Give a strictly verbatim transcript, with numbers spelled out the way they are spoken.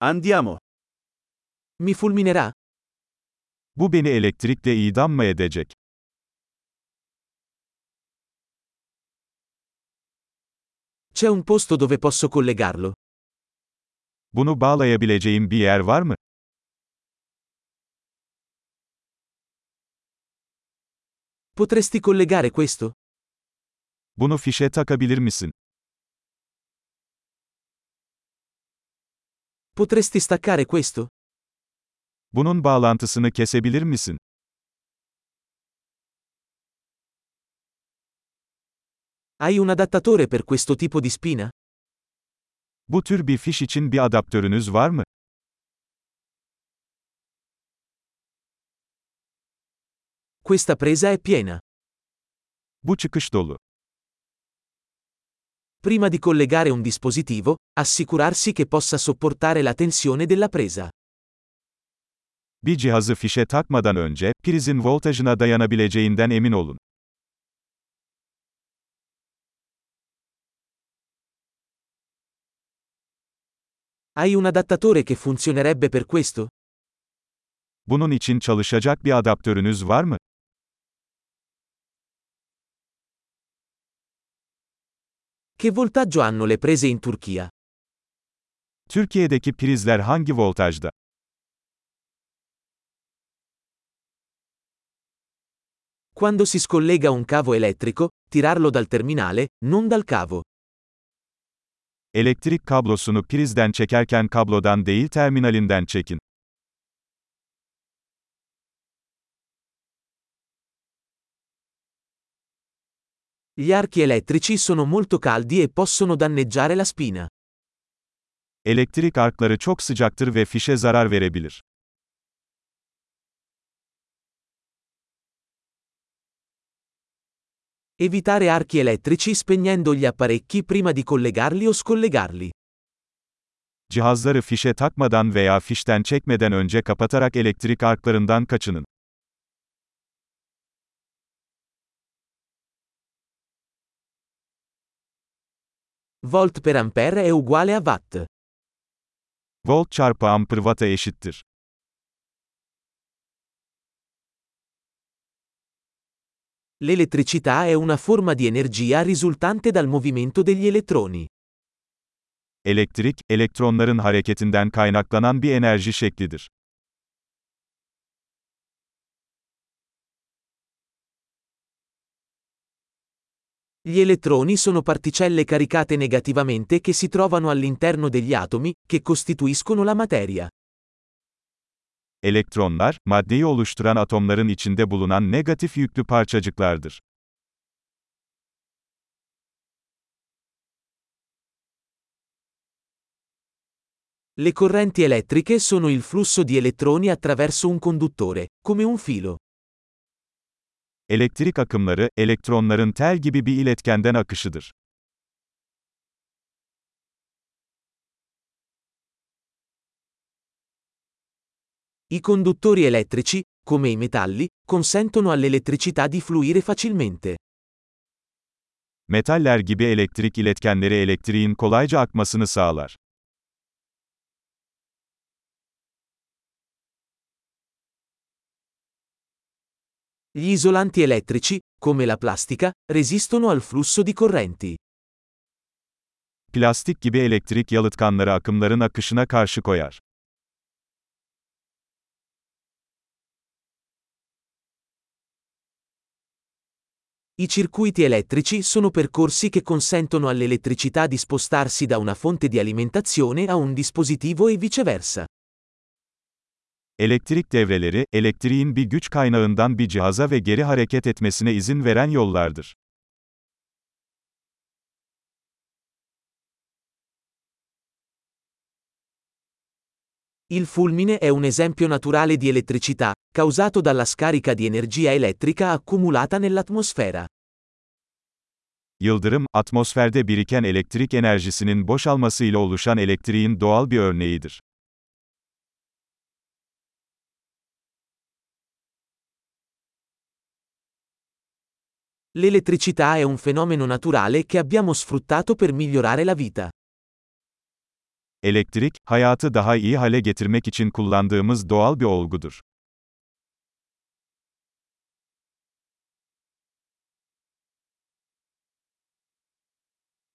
Andiamo. Mi fulminerà? Bu beni elektrikle idam mı edecek? C'è un posto dove posso collegarlo? Bunu bağlayabileceğim bir yer var mı? Potresti collegare questo? Bunu fişe takabilir misin? Potresti staccare questo? Bunun bağlantısını kesebilir misin? Hai un adattatore per questo tipo di spina? Bu tür bir fiş için bir adaptörünüz var mı? Questa presa è piena. Bu çıkış dolu. Prima di collegare un dispositivo, assicurarsi che possa sopportare la tensione della presa. Bir cihazı fişe takmadan önce, prizin voltajına dayanabileceğinden emin olun. Hai un adattatore che funzionerebbe per questo? Bunun için çalışacak bir adaptörünüz var mı? Che voltaggio hanno le prese in Turchia? Türkiye'deki prizler hangi voltajda? Quando si scollega un cavo elettrico, tirarlo dal terminale, non dal cavo. Elektrik kablosunu prizden çekerken kablodan değil terminalinden çekin. Gli archi elettrici sono molto caldi e possono danneggiare la spina. Elektrik arkları çok sıcaktır ve fişe zarar verebilir. Evitare archi elettrici spegnendo gli apparecchi prima di collegarli o scollegarli. Cihazları fişe takmadan veya fişten çekmeden önce kapatarak elektrik arklarından kaçının. Volt per ampere è uguale a watt. Volt çarpı amper watt'a eşittir. L'elettricità è una forma di energia risultante dal movimento degli elettroni. Elektrik, elektronların hareketinden kaynaklanan bir enerji şeklidir. Gli elettroni sono particelle caricate negativamente che si trovano all'interno degli atomi, che costituiscono la materia. Elektronlar, maddeyi oluşturan atomların içinde bulunan negatif yüklü parçacıklardır. Le correnti elettriche sono il flusso di elettroni attraverso un conduttore, come un filo. Elektrik akımları, elektronların tel gibi bir iletkenden akışıdır. I conduttori elettrici, come i metalli, consentono all'elettricità di fluire facilmente. Metaller gibi elektrik iletkenleri elektriğin kolayca akmasını sağlar. Gli isolanti elettrici, come la plastica, resistono al flusso di correnti. Plastik gibi elektrik yalıtkanları akımların akışına karşı koyar. I circuiti elettrici sono percorsi che consentono all'elettricità di spostarsi da una fonte di alimentazione a un dispositivo e viceversa. Elektrik devreleri, elektriğin bir güç kaynağından bir cihaza ve geri hareket etmesine izin veren yollardır. Il fulmine è un esempio naturale di elettricità, causato dalla scarica di energia elettrica accumulata nell'atmosfera. Yıldırım, atmosferde biriken elektrik enerjisinin boşalmasıyla oluşan elektriğin doğal bir örneğidir. L'elettricità è un fenomeno naturale che abbiamo sfruttato per migliorare la vita. Elektrik, hayatı daha iyi hale getirmek için kullandığımız doğal bir olgudur.